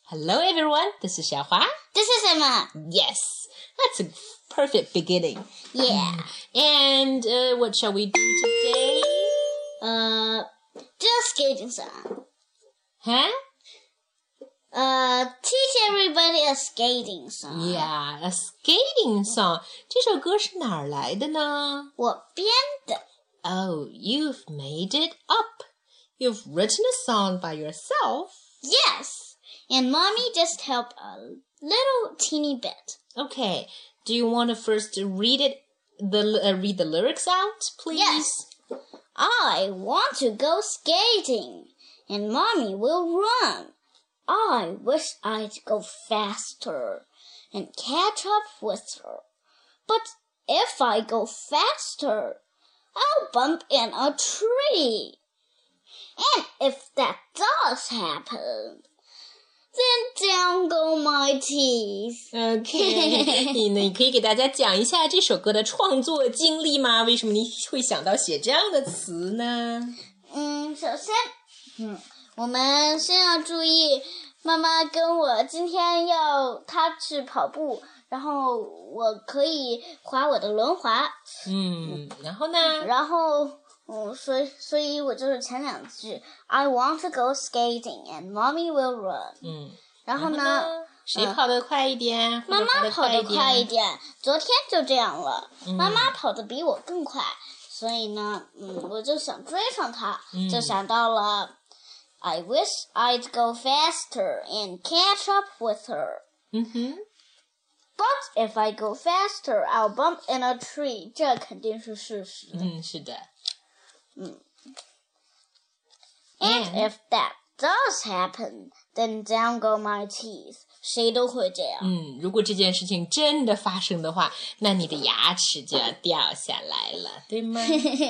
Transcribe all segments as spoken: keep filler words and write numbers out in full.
Hello everyone, this is Xiaohua. This is Emma. Yes, that's a perfect beginning. Yeah. And uh, what shall we do today? Uh, just skating song. Huh? Uh, teach everybody a skating song. Yeah, a skating song. 这首歌是哪儿来的呢？ 我编的。 Oh, you've made it up. You've written a song by yourself. Yes, and Mommy just helped a little teeny bit. Okay, do you want to first read it, the uh, read the lyrics out, please? Yes. I want to go skating, and Mommy will run. I wish I'd go faster and catch up with her. But if I go faster, I'll bump in a tree. And if that does happen, then down go my teeth. Okay, 你呢？你可以给大家讲一下这首歌的创作经历吗？为什么你会想到写这样的词呢？ 嗯，首先，嗯，我们先要注意，妈妈跟我今天要她去跑步，然后我可以滑我的轮滑。 嗯，然后呢？ 然后。嗯，所以所以我就是前两句 I want to go skating and mommy will run。 嗯， 然后呢？ 然后呢谁跑得快一点？ 嗯、妈妈跑得快一点。昨天就这样了， 嗯、 妈妈跑得比我更快，所以呢，嗯，我就想追上她， 嗯、 就想到了 I wish I'd go faster and catch up with her。 嗯哼。 But if I go faster, I'll bump in a tree。这肯定是事实。 嗯，是的。 嗯 And if that does happen, then down go my teeth. 谁都会这样。 嗯，如果这件事情真的发生的话，那你的牙齿就要掉下来了，对吗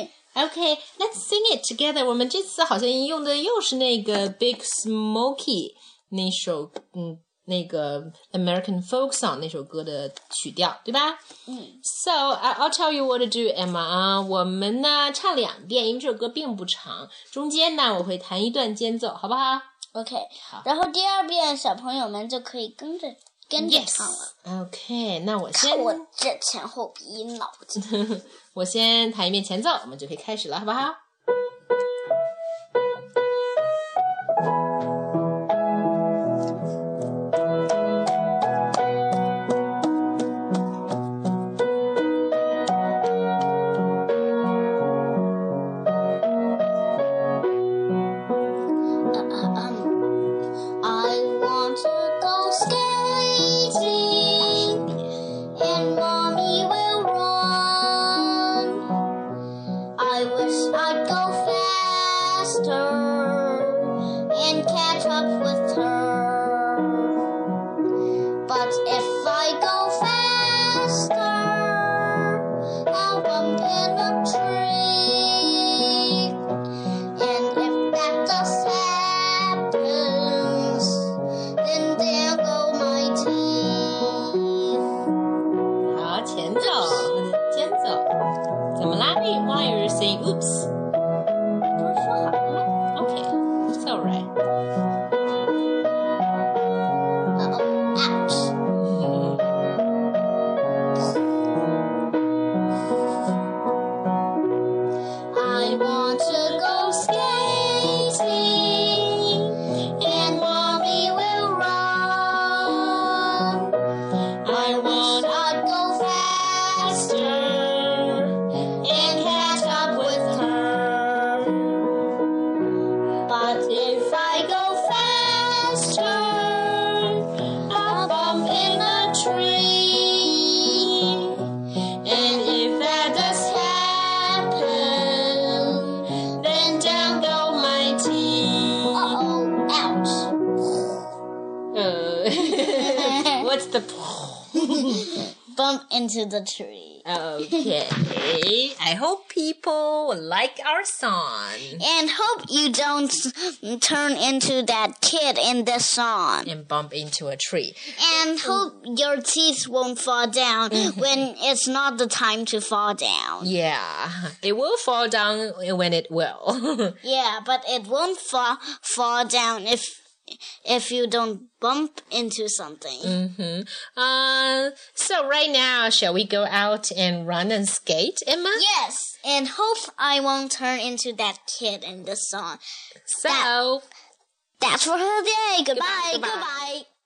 ？Okay, let's sing it together. 我们这次好像用的又是那个 Big Smokey 那首，嗯。那个 American folk song 那首歌的曲调，对吧？ 嗯。 So I'll tell you what to do, Emma 啊，我们呢唱两遍，因为这首歌并不长，中间呢我会弹一段间奏，好不好 ？OK。 好。 然后第二遍小朋友们就可以跟着跟着唱了。 Yes. OK， 那我先。 看我这前后鼻音脑筋。 我先弹一遍前奏，我们就可以开始了，好不好？What's the bump into the tree? Okay. I hope people will like our song. And hope you don't turn into that kid in this song. And bump into a tree. And hope your teeth won't fall down when it's not the time to fall down. Yeah. It will fall down when it will. Yeah, but it won't fall fall down if if you don't bump into something. Mm-hmm. Uh, so right now, shall we go out and run and skate, Emma? Yes, and hope I won't turn into that kid in this song. So, that, that's for today. Goodbye. Goodbye. Goodbye.